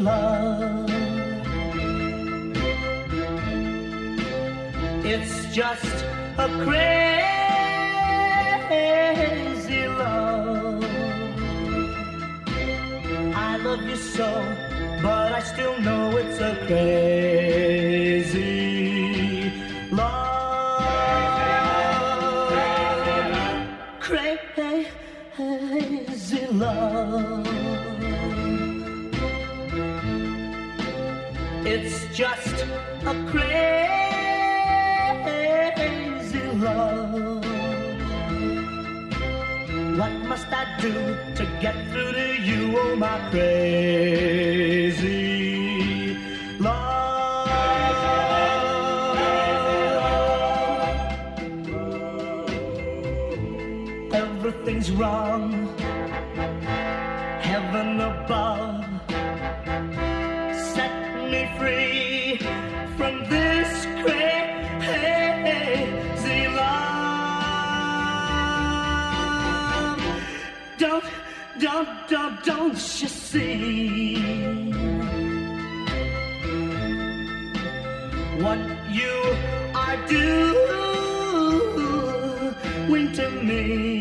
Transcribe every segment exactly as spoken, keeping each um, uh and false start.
love. It's just a crazy love. I love you so, but I still know it's a crazy love. Crazy love. It's just a crazy love. What must I do to get through to you, oh my crazy love? Everything's wrong, heaven above, set me free from this crazy love. Don't, don't, don't, don't you see what you are doing to me?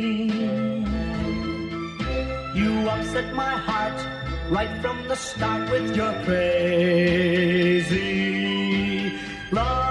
You upset my heart right from the start with your crazy love.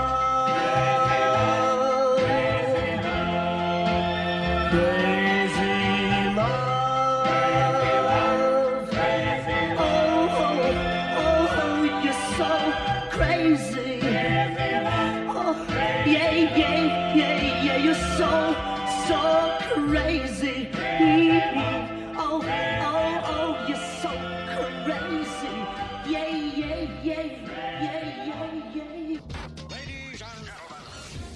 Crazy. Mm-hmm. Oh, oh, oh, you're so crazy. Yeah, yeah, yeah, yeah, yeah, yeah. Ladies and gentlemen.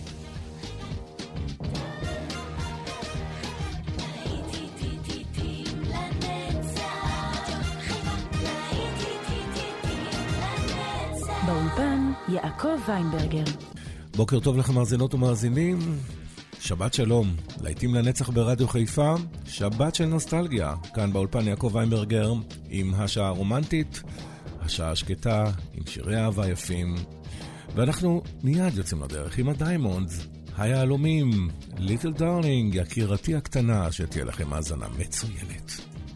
באולפן יעקב ויינברגר. בוקר טוב לכם מאזינות ומאזינים. שבת שלום, להיטים לנצח ברדיו חיפה, שבת של נוסטלגיה, כאן באולפן יעקב ויינברגר, עם השעה הרומנטית, השעה השקטה, עם שירי אהבה יפים, ואנחנו מיד יוצאים לדרך עם הדיימונדס, היהלומים, ליטל דארלינג, יקירתי הקטנה, שתהיה לכם האזנה מצוינת.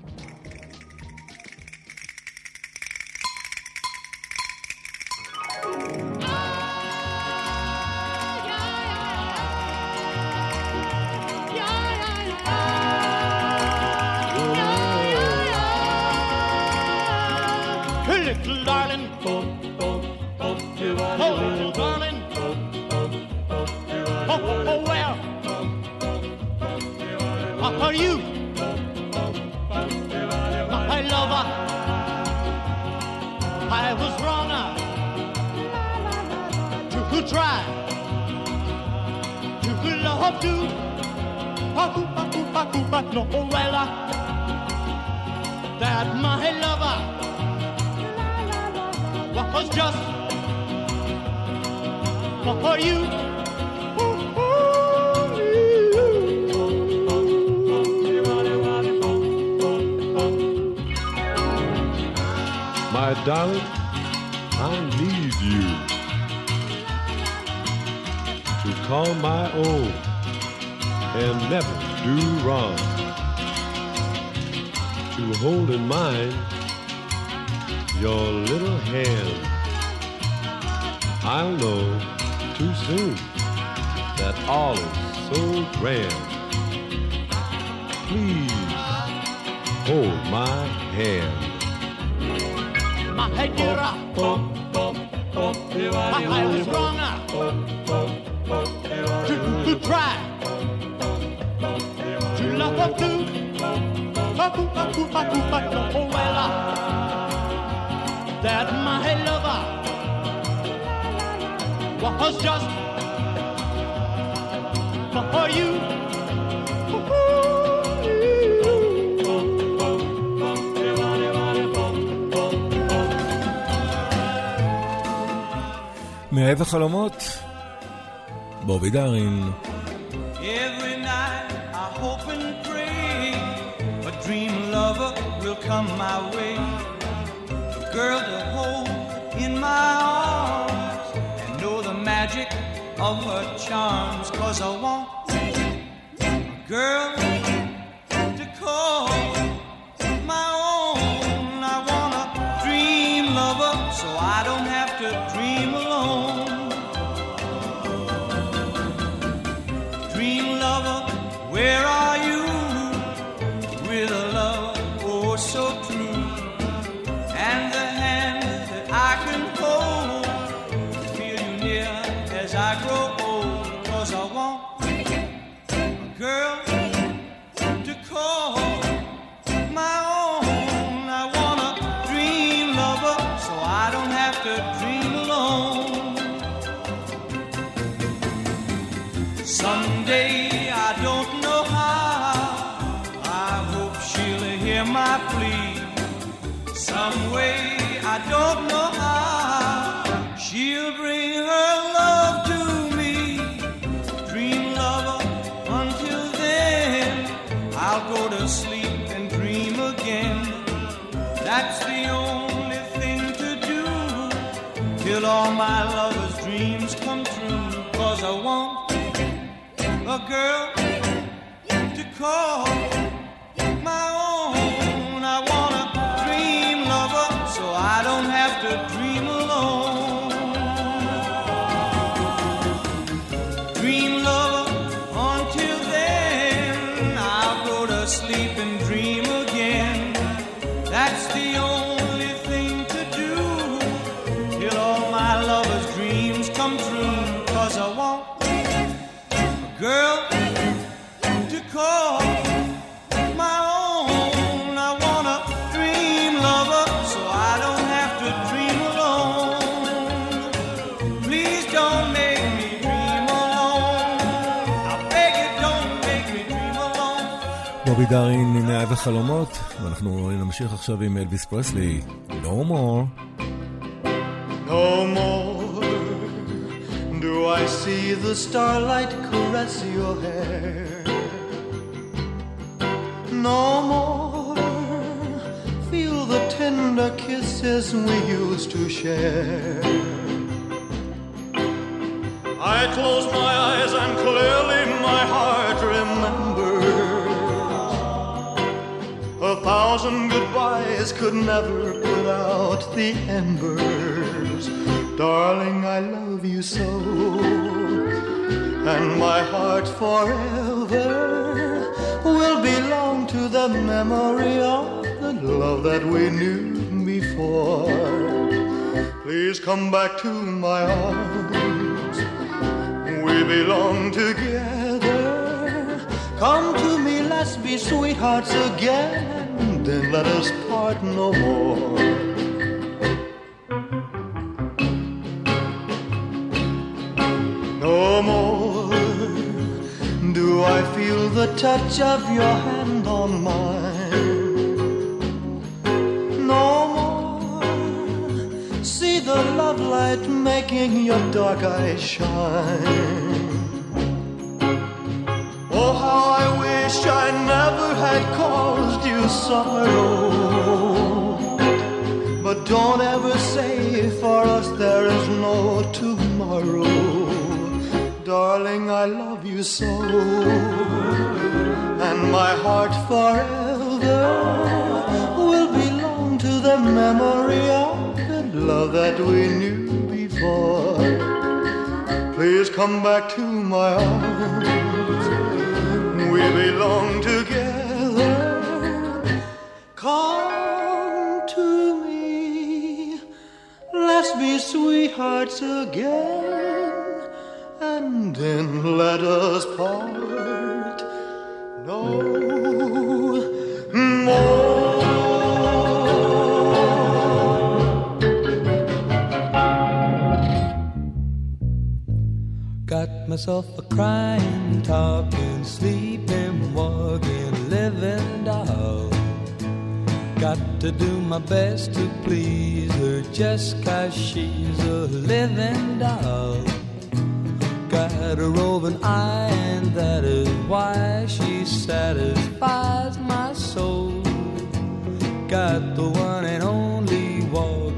That my lover was just for you. My darling, I need you to call my own and never do wrong. To hold in mind your little hand. I'll know too soon that all is so grand. Please hold my hand. My dear, I was wrong to, to try to love her too. Oh well, that my lover was just for you. מאהב החלומות, בובי דארין. Every night I hope and pray a dream lover will come my way. girl to hold in my arms and know the magic of her charms. 'Cause I want a girl to call my own. I want a dream lover so I don't have to dream alone. Dream lover, where are you? With a love oh so true, and the hand that I can hold, feel you near as I grow old. 'Cause I want a girl to call my own. I want a dream lover so I don't have to dream alone. Someday, I don't know how, I hope she'll hear my plea. Some way, I don't know how, she'll bring her love to me. Dream lover, until then, I'll go to sleep and dream again. That's the only thing to do, till all my lover's dreams come true. 'Cause I want a girl to call my own. I want a dream lover so I don't have to dream alone. Dream lover, until then, I'll go to sleep and dream again. That's the only thing to do, till all my lover's dreams come true. 'Cause I want girl to call my own. I want a dream lover so I don't have to dream alone. Please don't make me dream alone. I beg you, don't make me dream alone. בובי דארין עם מאהב וחלומות, ואנחנו נמשיך עכשיו עם אלביס פרסלי, No More. No more do I see the starlight caress your hair. No more feel the tender kisses we used to share. I close my eyes and clearly my heart remembers. A thousand goodbyes could never put out the embers. Darling, I love you so, and my heart forever will belong to the memory of the love that we knew before. Please come back to my arms, we belong together. Come to me, let's be sweethearts again, then let us part no more. No more do I feel the touch of your hand on mine. No more see the love light making your dark eyes shine. Oh, how I wish I never had caused you sorrow. But don't ever say for us there is no tomorrow. Darling, I love you so, and my heart forever will belong to the memory of the love that we knew before. Please come back to my arms, we belong together. Come to me, let's be sweethearts again, and then let us part no more. Got myself a crying, talking, sleeping, walking, living doll. Got to do my best to please her just 'cause she's a living doll. Got a roving eye, and that is why she satisfies my soul. Got the one and only walk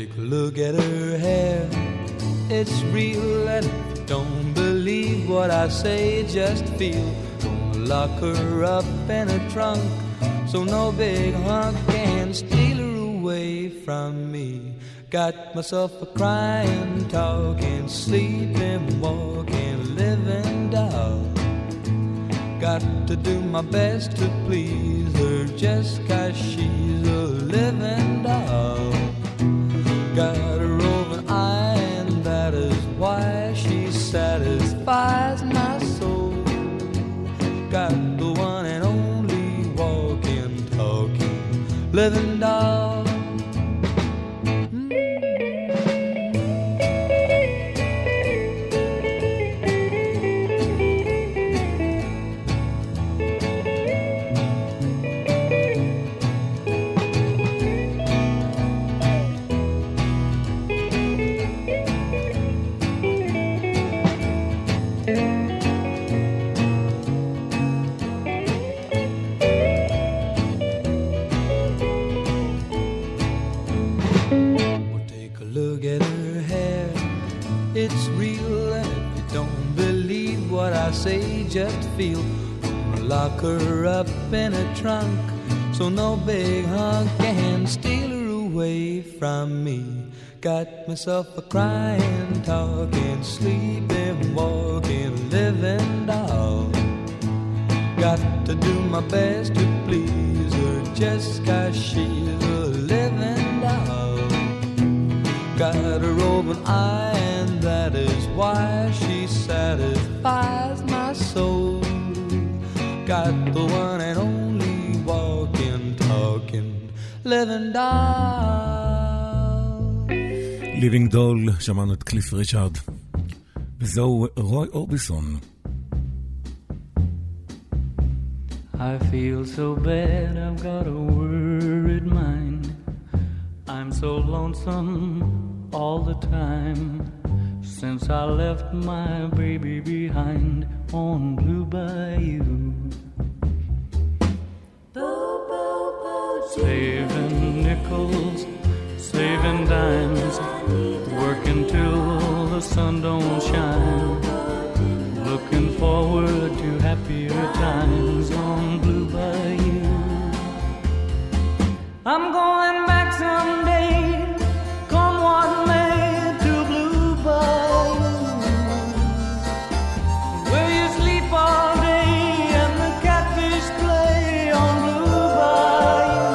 take a look at her hair. It's real, and if you don't believe what I say, just feel. Gonna lock her up in a trunk, so no big hunk can steal her away from me. Got myself a crying, talking, sleeping, walking, living doll. Got to do my best to please her just 'cause she's a living doll. Got a roving eye, and that is why she satisfies my soul. Got the one and only walking, talking, living doll. Just feel. Lock her up in a trunk, so no big hunk can steal her away from me. Got myself a crying, talking, sleeping, walking, living doll. Got to do my best to please her just 'cause she's a living doll. Got a roving eye, and that is why she satisfies my soul. Got the one and only walking, talking, living doll. Living doll, שמענו את קליף ריצ'ארד. וזהו רוי אורביסון. I feel so bad, I've got a worried mind. I'm so lonesome all the time, since I left my baby behind on Blue Bayou. Saving nickels, saving dimes, working till the sun don't shine, looking forward to happier times on Blue Bayou. I'm going back someday, come what may, to Blue Bayou, where you sleep all day and the catfish play on Blue Bayou.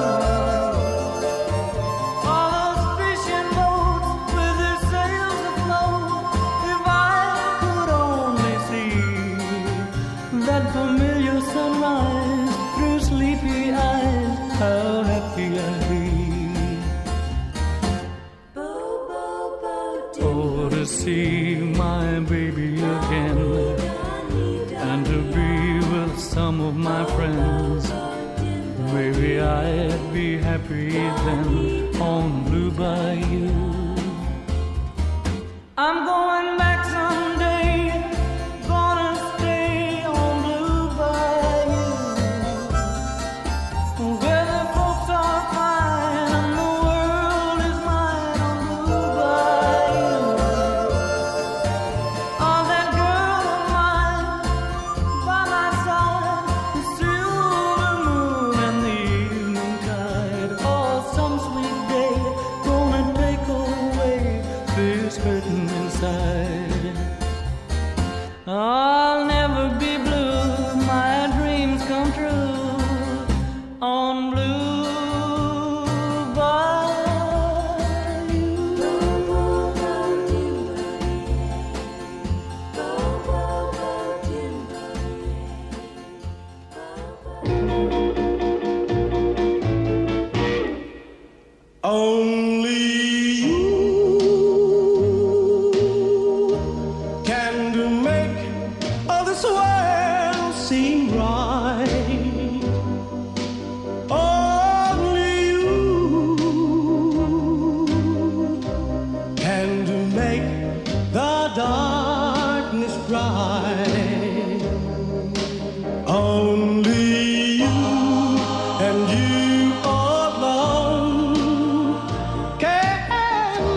All those fishing boats with their sails afloat, if I could only see that familiar sunrise through sleepy eyes, how happy I'd be. Oh, to see my baby again, and to be with some of my friends, maybe I'd be happy then on Blue Bayou. I'm going back someday, gonna stay on Blue Bayou, where the folks are fine and the world is mine on Blue Bayou. Oh, that girl of mine by my side, the silver moon and the evening tide. Oh, some sweet day gonna take away this hurting inside. I'll never be blue, my dreams come true on Blue Bayou. Only you can do make all this world seem right. Only you can do make the darkness bright. Only you and you alone can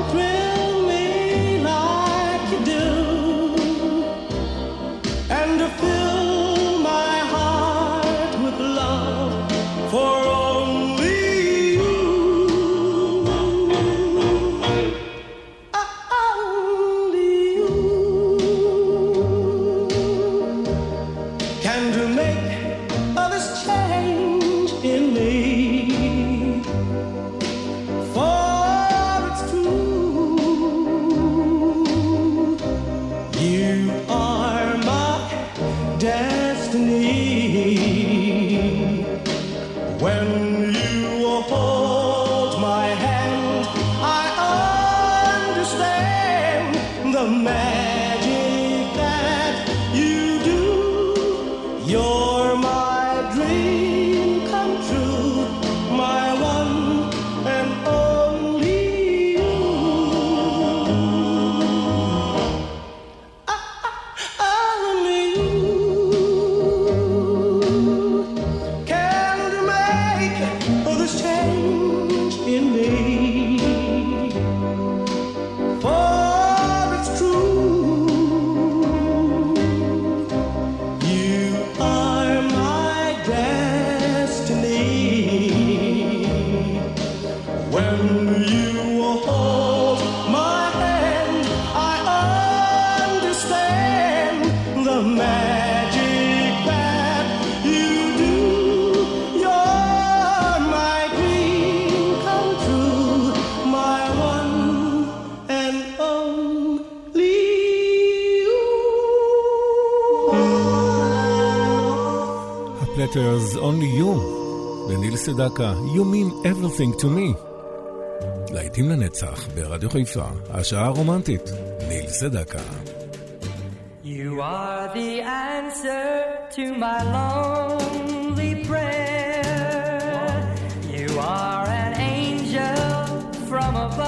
Waters, Only You, וניל סדקה, You mean everything to me. להיטים לנצח ברדיו חיפה, השעה הרומנטית, ניל סדקה. You are the answer to my lonely prayer. You are an angel from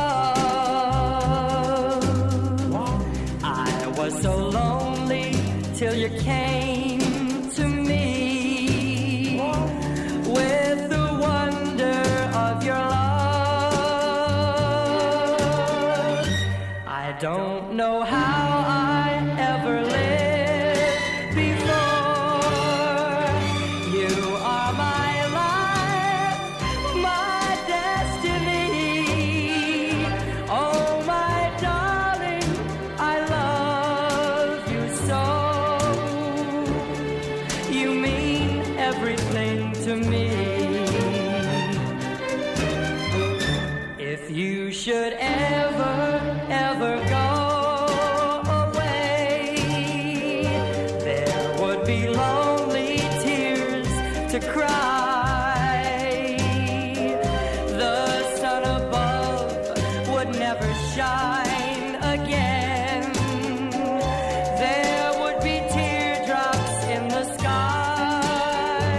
above. I was so lonely till you came to me with the wonder of your love. I don't know how I ever lived before. You are my life, my destiny. Oh, my darling, I love you so. You mean everything to me. If you should ever, ever go away, there would be lonely tears to cry. The sun above would never shine again. There would be teardrops in the sky.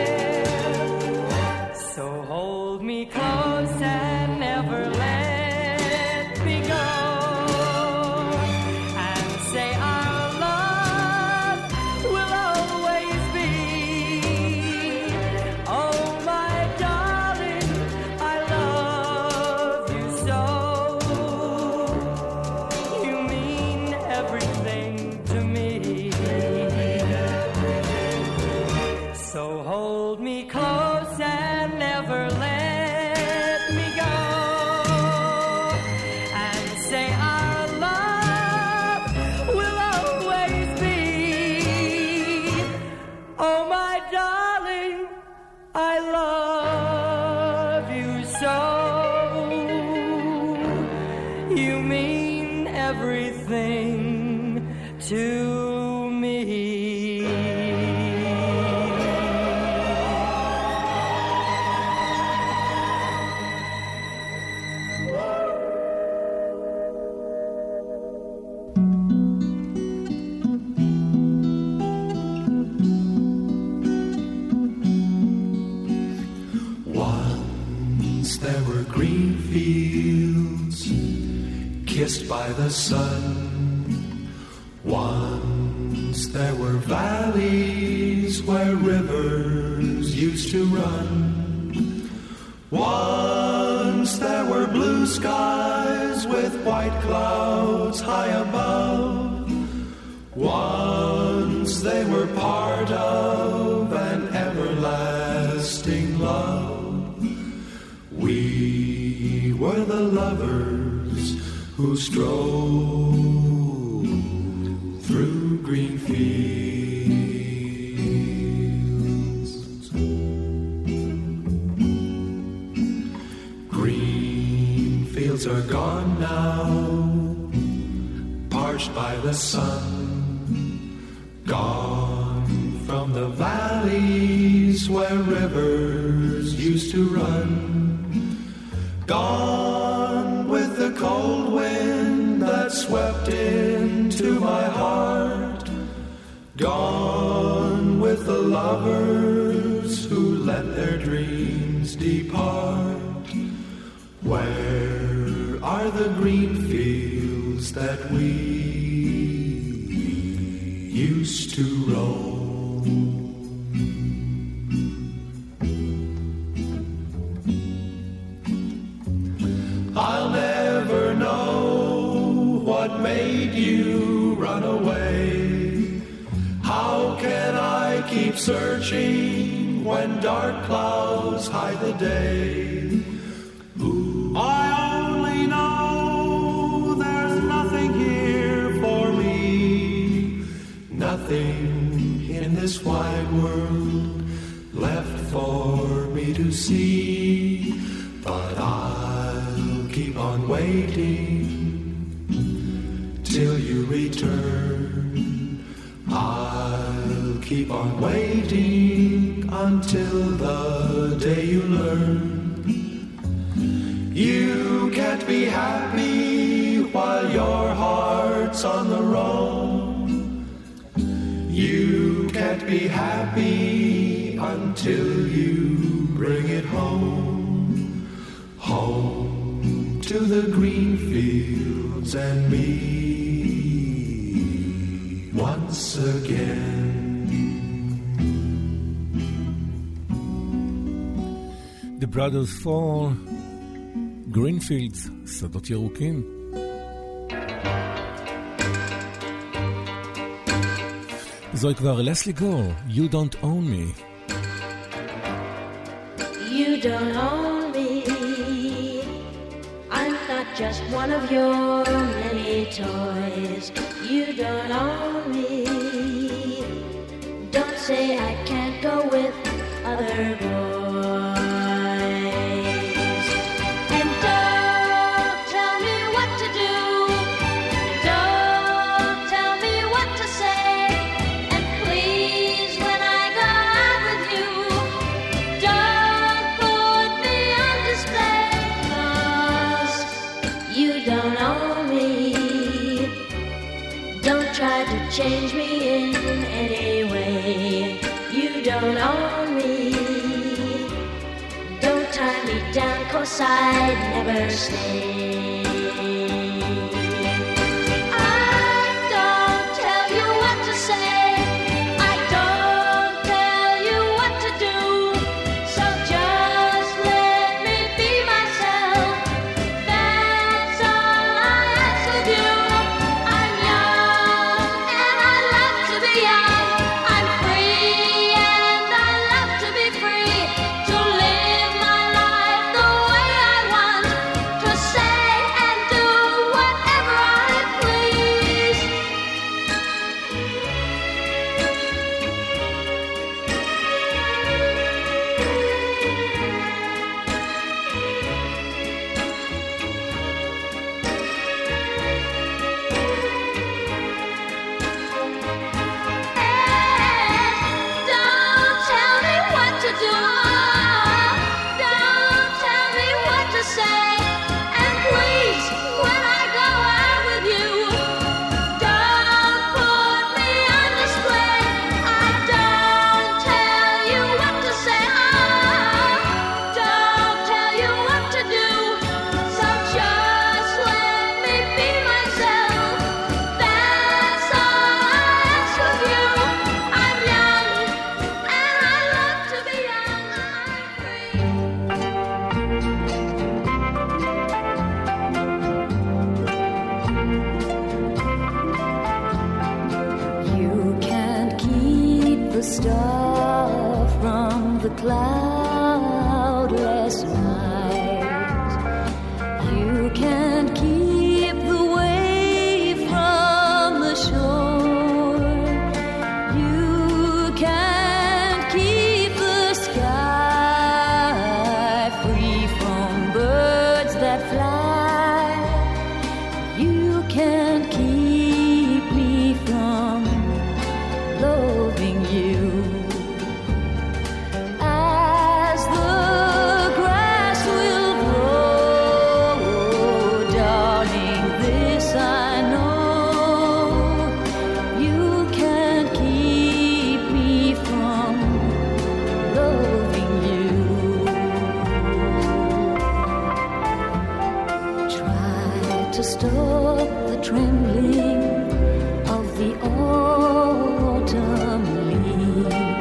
So hold me close and never let me go, and say our love will always be. Oh, my darling, I love you so. You mean everything to me. So hold me close and never let me go, and say our love will always be. Oh, my darling, I love you so. You mean everything to me. Once there were green fields kissed by the sun. Once there were valleys where rivers used to run. Once there were blue skies with white clouds high above. Once they were part of an everlasting love. We were the lovers who strolled through green fields. Green fields are gone now, parched by the sun. Gone from the valleys where rivers used to run. Gone with the cold wind that swept into my heart. Gone with the lovers who let their dreams depart. Where are the green fields that we used to roam? I'll never know what made you run away. How can I keep searching when dark clouds hide the day? Ooh. I only know there's nothing here for me, nothing in this wide world left for me to see. But I'll keep on waiting till you return. I'll keep on waiting until the day you learn. You can't be happy while your heart's on the road. You can't be happy until you bring it home. Home to the green fields and me once again. The Brothers Four, Greenfields, שדות ירוקים. זוהי כבר לסלי גור, You Don't Own Me. You don't own me. I'm not just one of your many toys. You don't own me. Don't say I can't go with other boys. And don't tell me what to do. Don't tell me what to say. And please, when I go out with you, don't put me on display. 'Cause you don't own me. Don't try to change me in any way. You don't own me. Don't tie me down, 'cause I'd never stay. I don't tell you what to say. I don't tell you what to do. So just let me be myself. That's all I ask of you. I'm young and I love to be young. I'm free and I love to be free. To live my life the way I want. To say and do whatever I please. Don't tell me what to do. Don't tell me what to say. And please, when I go out with you, don't put me on display. I don't tell you what to say. Don't tell you what to do. So just let me be myself. That's all I ask of you. I'm young and I love to be young. I'm free. You can't keep the star from the cloudless night. You can't keep the wave from the shore. You can't keep the sky free from birds that fly. You can't keep me from loving you. As the grass will grow, darling, this I know. You can't keep me from loving you. Try to stop the trembling of the autumn leaf.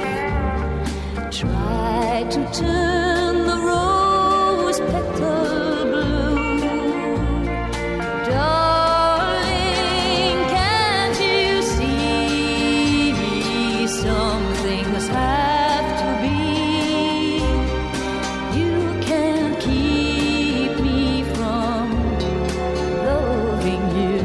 Try to turn the rose petal blue. Darling, can't you see some things have to be? You can't keep me from loving you.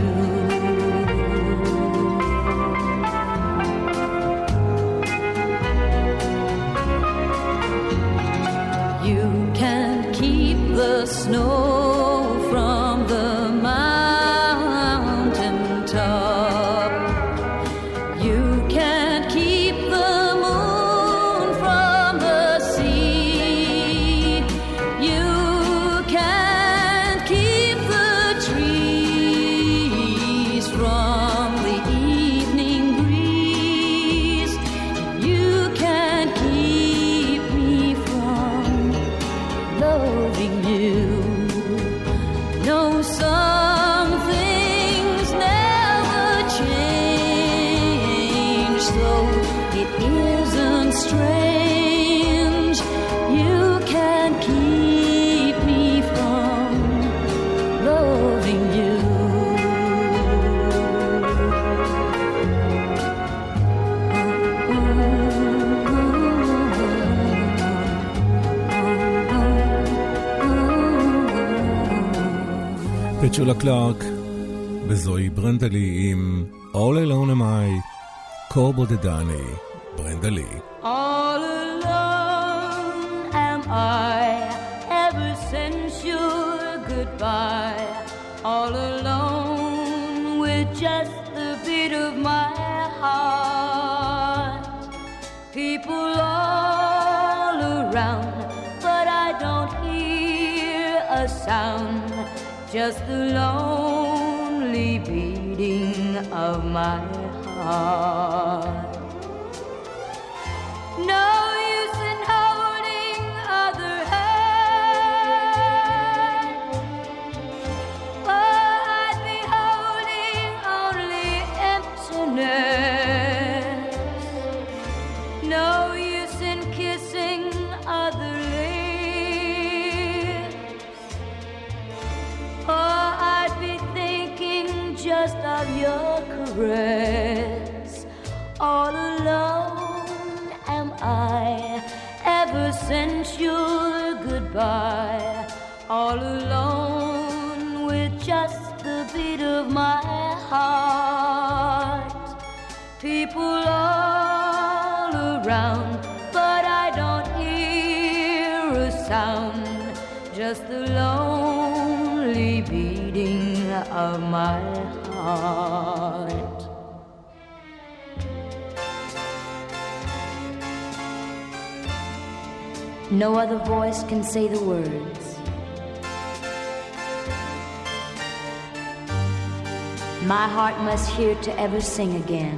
You can't keep the snow from the mountain top. You can't keep the moon from loving you. No, some things never change, so it isn't strange you can't keep me from loving you. פצ'ולה קלארק וזוהי ברנדלי עם All Alone Am I, קור בודדני, ברנדלי. All alone am I, ever since your goodbye. All alone with just the beat of my heart. People all around, but I don't hear a sound. Just the lonely beating of my heart. No use in holding other hands, for I'd be holding only emptiness. No use in kissing other lips, for I'd be thinking just of your caress. All alone am I, ever since your goodbye. All alone with just the beat of my heart. People all around, but I don't hear a sound. Just the lonely beating of my heart. No other voice can say the words. My heart must hear to ever sing again.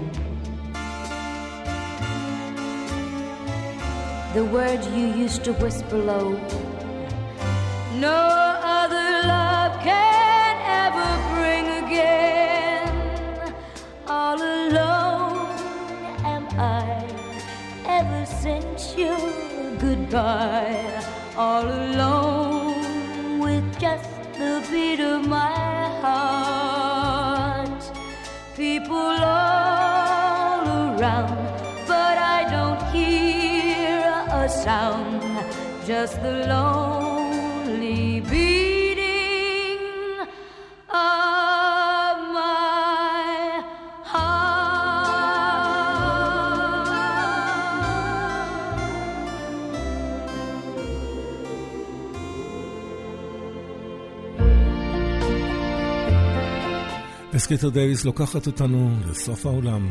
The words you used to whisper low. No other love can ever bring again. All alone am I, ever since your goodbye. All alone with just the beat of my heart. People all around, but I don't hear a sound. Just the lonely beating of my אסקיטר דייוויס לוקחת אותנו לסוף העולם.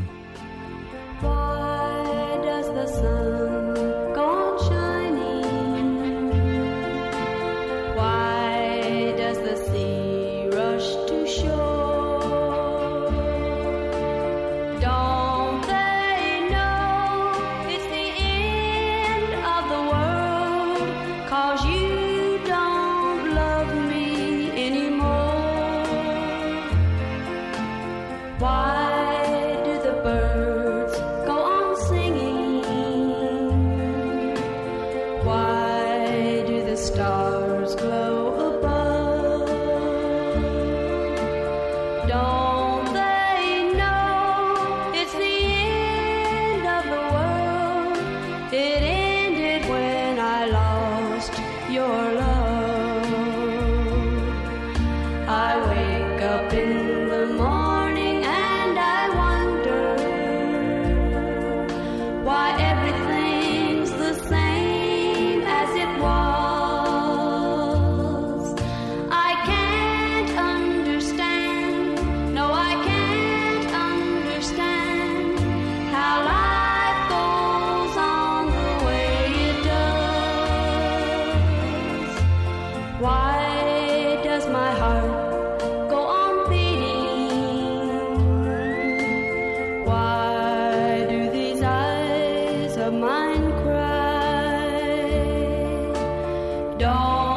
Don't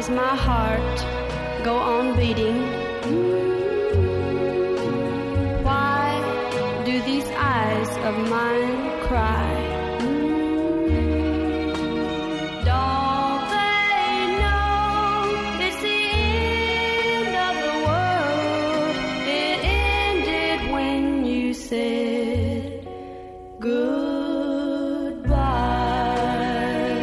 does my heart go on beating? Why do these eyes of mine cry? Don't they know it's the end of the world? It ended when you said goodbye.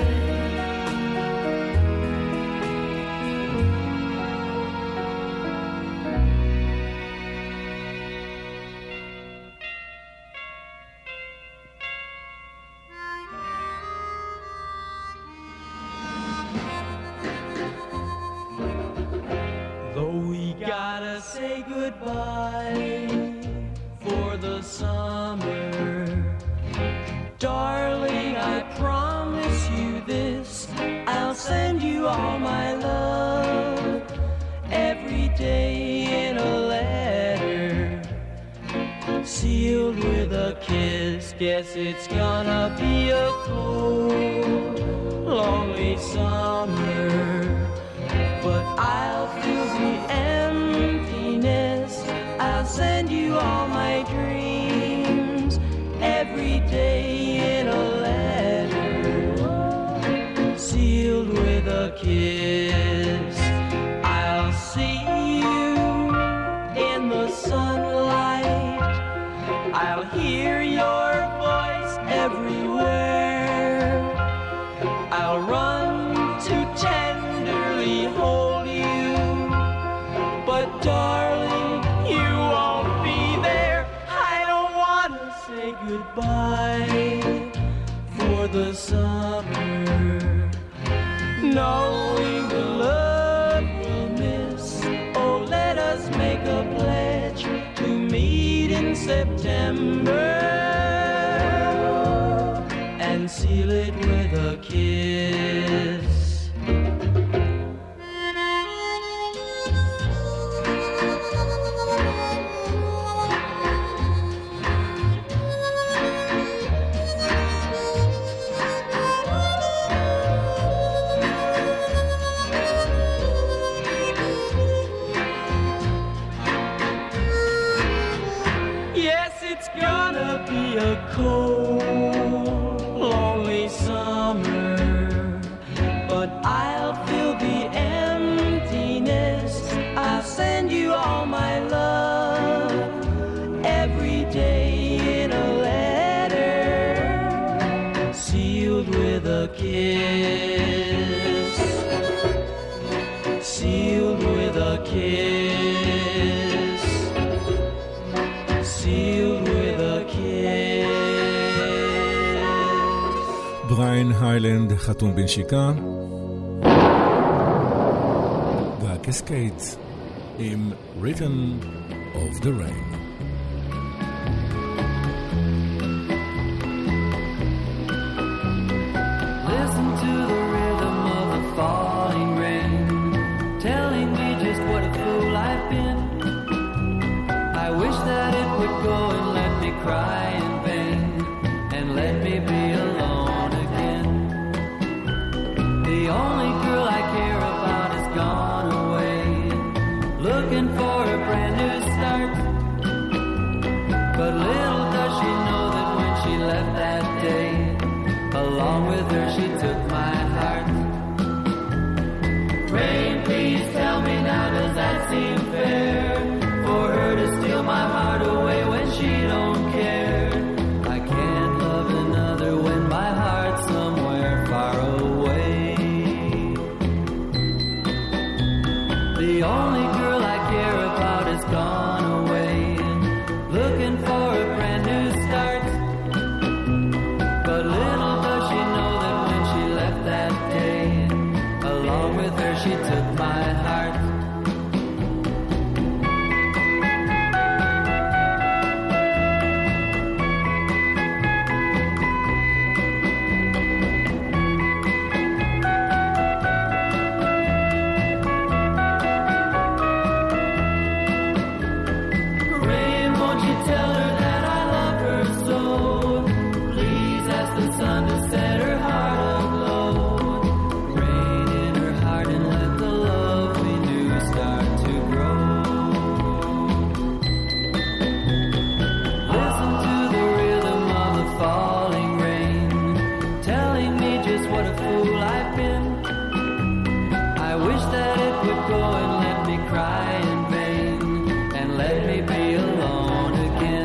Though we gotta say goodbye for the summer, darling, I promise you this, I'll send you all my love every day in a letter, sealed with a kiss. Guess it's gonna be a cold, lonely summer, but I'll feel the emptiness. I'll send you all my dreams every day in a letter, sealed with a kiss. I'll see you in the sunlight, I'll hear your voice everywhere, I'll run to tenderly hold you, but darling, you won't be there. I don't want to say goodbye for the summer, knowing the love we'll miss. Oh, let us make a pledge to meet in September and seal it with a kiss. A cold, lonely summer, but I'll feel the emptiness. I'll send you all my love every day in a letter, sealed with a kiss, sealed with a kiss, sealed with a kiss. בריין היילנד חתום בנשיקה, והקסקיידס עם Rhythm of the Rain. Listen to the rhythm of the falling rain, telling me just what a fool I've been. I wish that it would go and let me cry in vain, and let me be alone again. The only girl I care about has gone away, looking for a brand new start. But little does she know that when she left that day, along with her she took my heart. Rain, please tell me now, does that seem fair? For her to steal my heart away when she don't care. I can't love another when my heart's somewhere far away. The only girl I care about has gone away, looking for a brand new start. But little does she know that when she left that day, along with her she took my heart. Sun to set her heart aglow. Rain in her heart and let the would go and let me cry in vain and let me be alone again.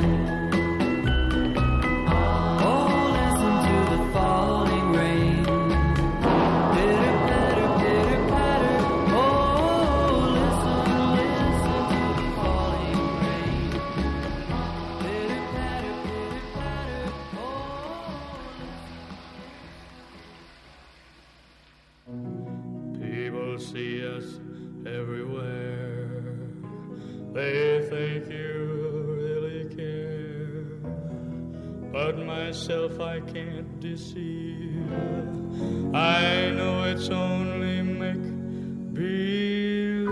Oh, listen to the falling rain. Pitter patter, pitter patter. Oh, listen, listen to the falling rain. Pitter patter, pitter patter. People see us everywhere. They think you really care. But myself I can't deceive. I know it's only make believe.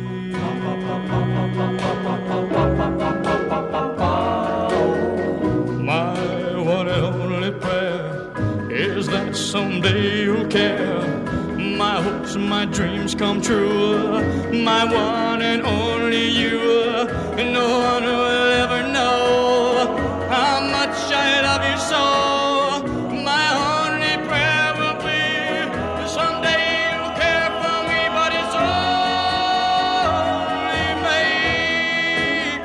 My one and only prayer is that someday you'll care. My hopes, my dreams come true. My one and only you. No one will ever know how much I love you so. My only prayer will be someday you'll care for me, but it's only make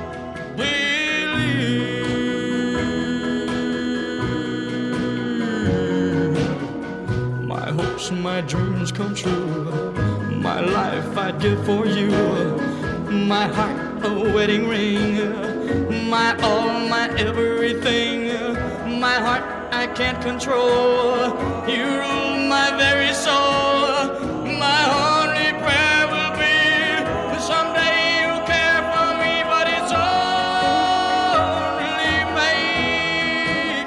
believe. My hopes, my dreams come true. My life I'd give for you. My heart a wedding ring. My all, my everything. My heart I can't control. You rule my very soul. My only prayer will be someday you'll care for me, but it's only make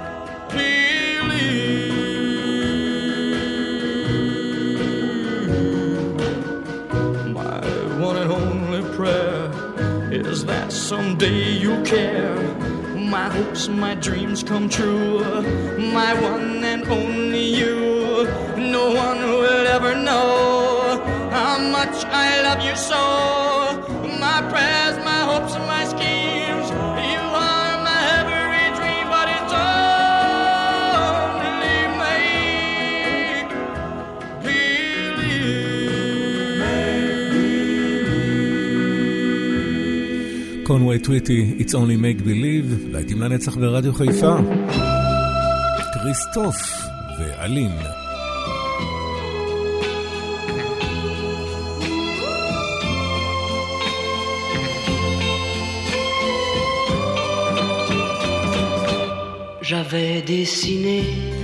believe. My one and only prayer is that someday you'll care. My hopes, my dreams come true. My one and only you. No one will ever know how much I love you so. My prayers, my hopes, and my schemes. You are my every dream, but it's only make believe. קונווי טוויטי, It's only make believe, להיטים לנצח ברדיו חיפה. כריסטוף ואלין. J'avais dessiné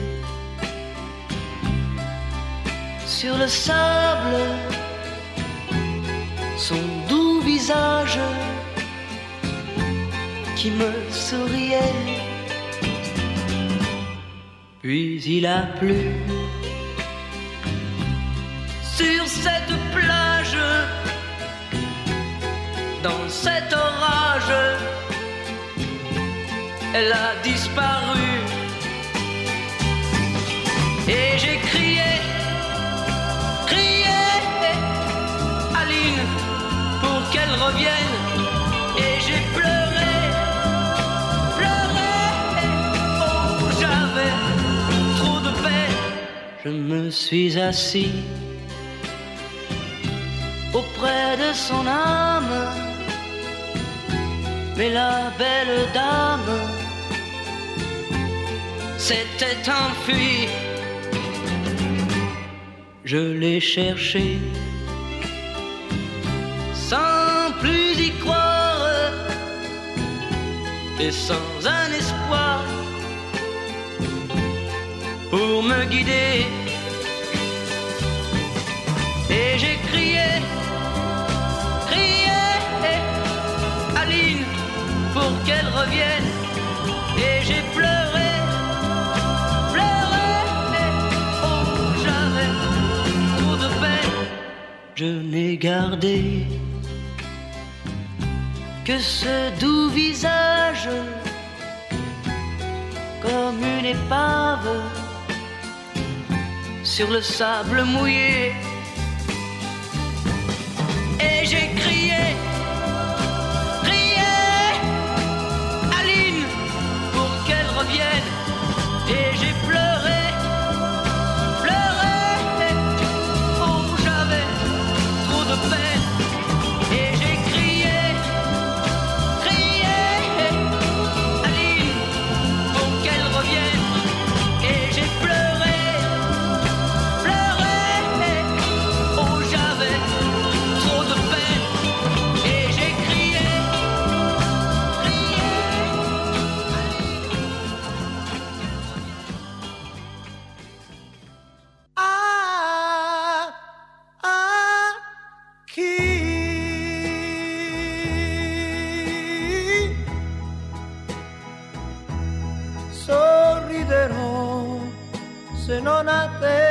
sur le sable son doux visage qui me souriait. Puis il a plu sur cette plage, dans cet orage, elle a disparu. Et j'ai crié, crié, Aline, pour qu'elle revienne. Et j'ai pleuré, pleuré, oh j'avais trop de peine. Je me suis assis auprès de son âme, mais la belle dame s'était enfuie. Je l'ai cherché sans plus y croire et sans un espoir pour me guider. Et j'ai crié, crié, Aline, pour qu'elle revienne. Et j'ai pleuré, pleuré, oh j'avais trop de peine. Je n'ai gardé que ce doux visage, comme une épave sur le sable mouillé. Et j'ai crié, crié, Aline, pour qu'elle revienne. Et j'ai pleuré, pleuré, oh j'avais non a te.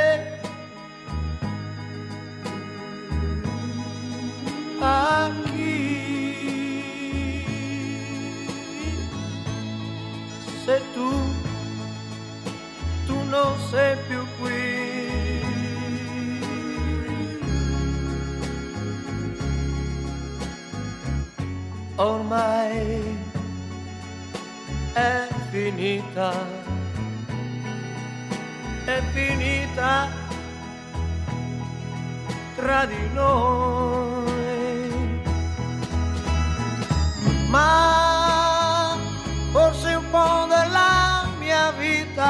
A chi? Se tu, tu non sei più qui. Ormai è finita, è finita tra di noi, ma forse un po' della mia vita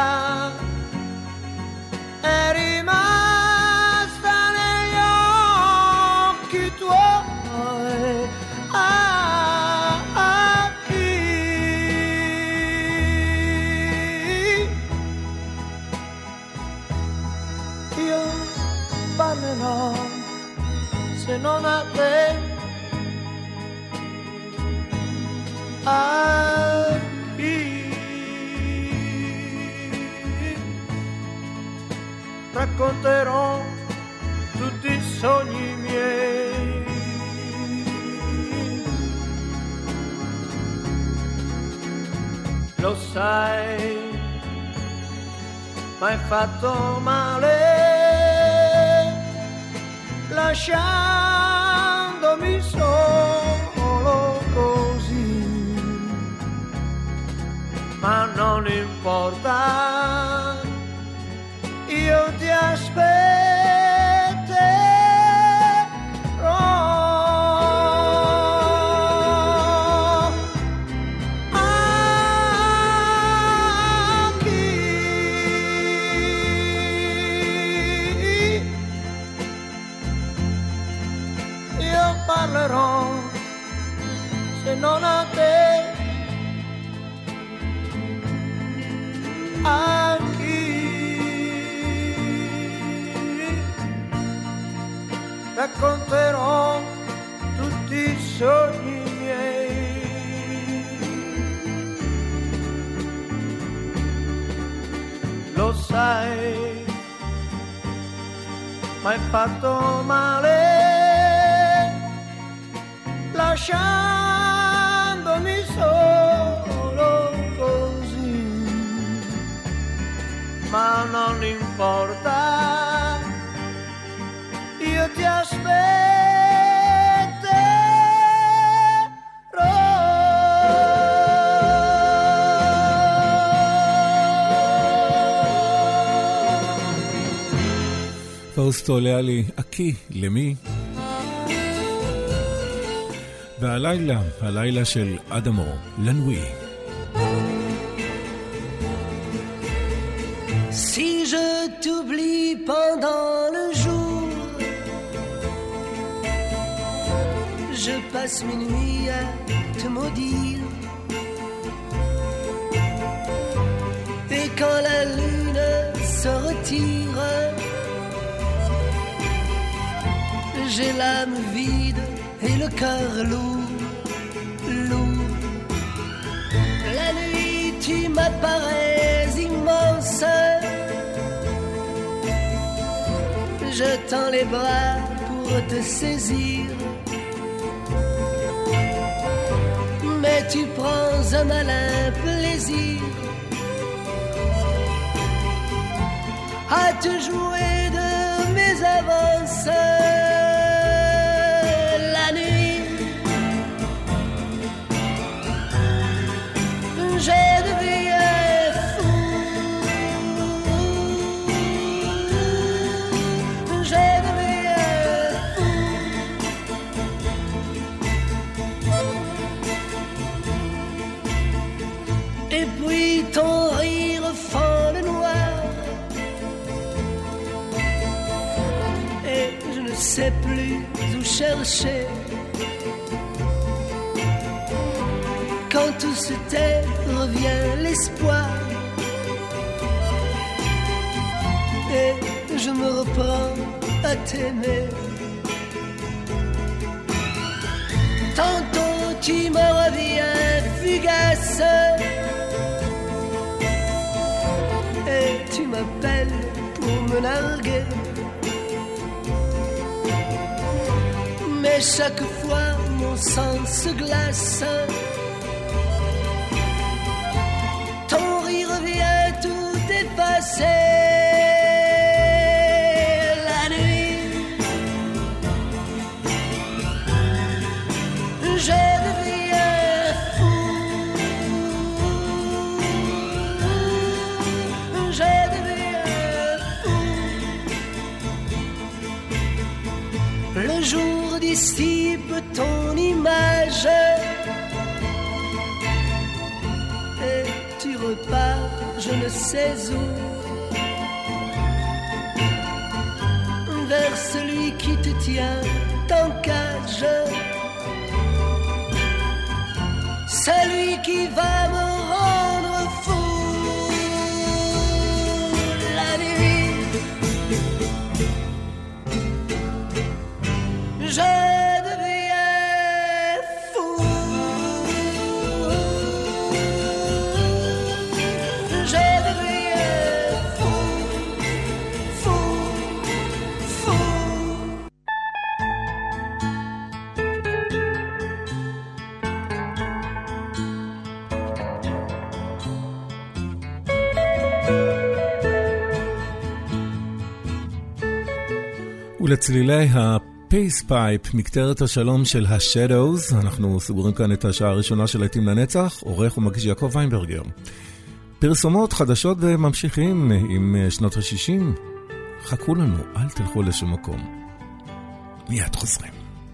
è rimasta negli occhi tuoi. Ah, ah, chi? Io parlerò se non a te. A chi? Racconterò tutti i sogni miei. Lo sai, m'hai fatto male, lasciandomi solo così, ma non importa, io ti aspetterò. Parlerò se non a te. A chi? Racconterò tutti i sogni miei. Lo sai, m'hai fatto male, lasciandomi solo così, ma non importa, io ti aspetterò. פאוסטו ליאלי, אקי, למי? והלילה, הלילה של אדמו, לנוי. Si je t'oublie pendant le jour, je passe mes nuits à te maudire. Et quand la lune se retire, j'ai l'âme vide et le cœur lourd, lourd. La nuit tu m'apparais immense, je tends les bras pour te saisir, mais tu prends un malin plaisir à te jouer de mes avances. La nuit, j'ai deviné fou, j'ai deviné fou. Et puis ton rire fend le noir, et je ne sais plus où chercher. Quand tout se tait, revient l'espoir, et je me reprends à t'aimer. Tantôt tu me reviens fugace, et tu m'appelles narguer. Mais chaque fois mon sang se glace. Ton rire vient tout effacer. La nuit, je deviens fou. Je deviens fou. Le jour dissipe ton image et tu repars je ne sais où vers celui qui te tient en cage, celui qui va me rendre fou. La nuit, je ולצלילי הפייס פייפ, מקטרת השלום של השדוז, אנחנו סוגרים כאן את השעה הראשונה של להיטים לנצח, עורך ומגיש יעקב ויינברגר. פרסומות חדשות וממשיכים עם שנות ה-שישים. חכו לנו, אל תלכו לשום מקום. מיד חוזרים.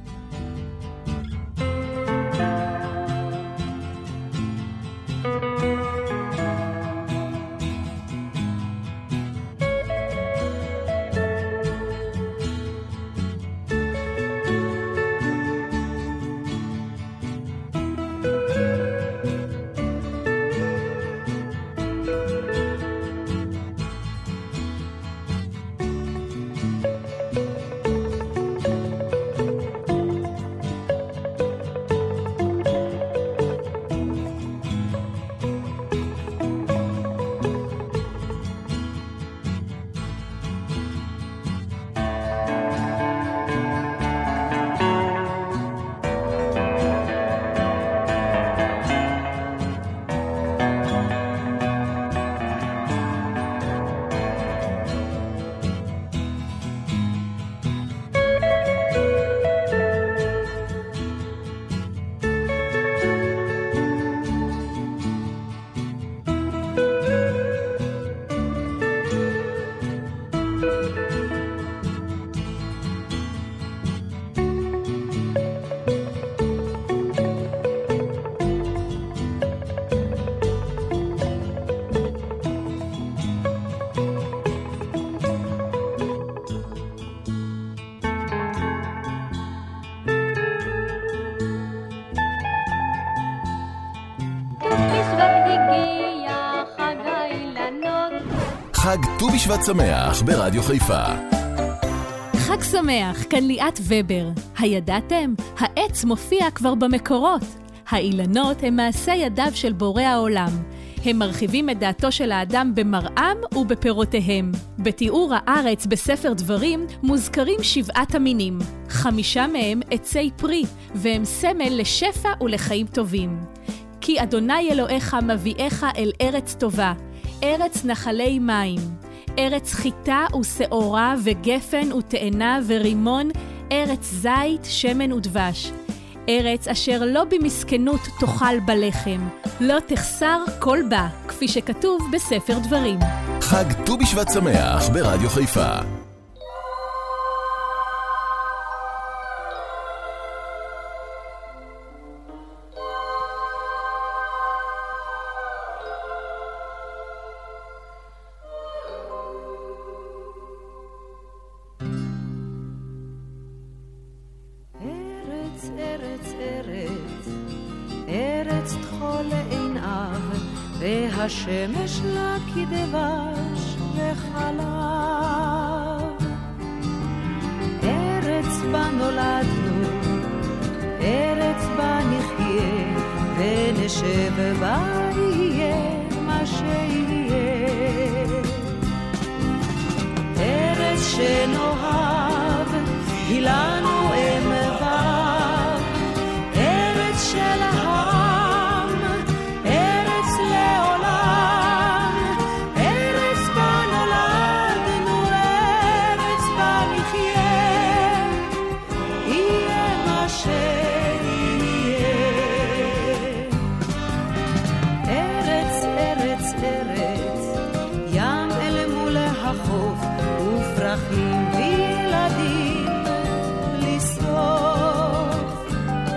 חג ט"ו בשבט שמח ברדיו חיפה. חג שמח, כאן ליאת ובר. הידעתם? העץ מופיע כבר במקורות. האילנות הם מעשה ידיו של בורא העולם. הם מרחיבים את דעתו של האדם במראם ובפירותיהם. בתיאור הארץ בספר דברים מוזכרים שבעת המינים. חמישה מהם עצי פרי, והם סמל לשפע ולחיים טובים. כי אדוני אלוהיך מביאך אל ארץ טובה, ארץ נחלי מים, ארץ חיטה ושעורה וגפן ותאנה ורימון, ארץ זית, שמן ודבש. ארץ אשר לא במסכנות תאכל בלחם, לא תחסר כל בה, כפי שכתוב בספר דברים. חג ט"ו בשבט שמח ברדיו חיפה. השמש לה כדבש וחלב, ארץ בה נולדנו, ארץ בה נחיה, ונשב בה יהיה מה שיהיה. שנאהב, היא לנו אם וו, ארץ של העם, ארץ לעולם, ארץ בה נולדנו, ארץ בה נחיה, יהיה מה שיהיה. ארץ, ארץ, ארץ, ים אל מול החוף, ופרחים וילדים לסוף.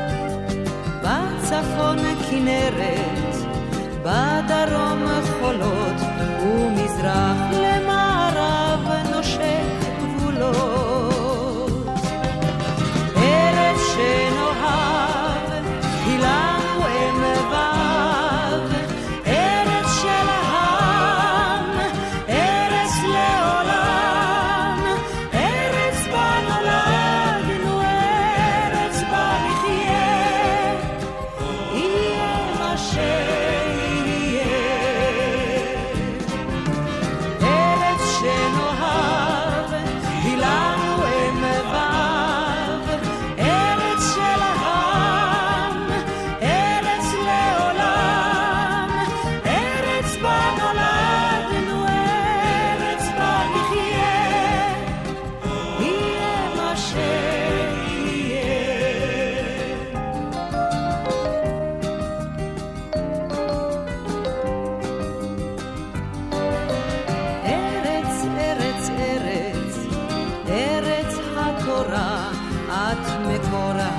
בצפון כנרת, בדרום חולות, ומזרח למערב נושק גבולות. ארץ שנאהב, היא לנו אם וו, ארץ של העם, ארץ לעולם, ארץ בה נולדנו, ארץ בה נחיה, יהיה מה שיהיה. ארץ שנאהב, היא לנו אם וו, ארץ של העם, ארץ לעולם, ארץ בה נולדנו, ארץ בה נחיה, יהיה מה שיהיה. ארץ, ארץ, ארץ, ארץ התורה, את מקורה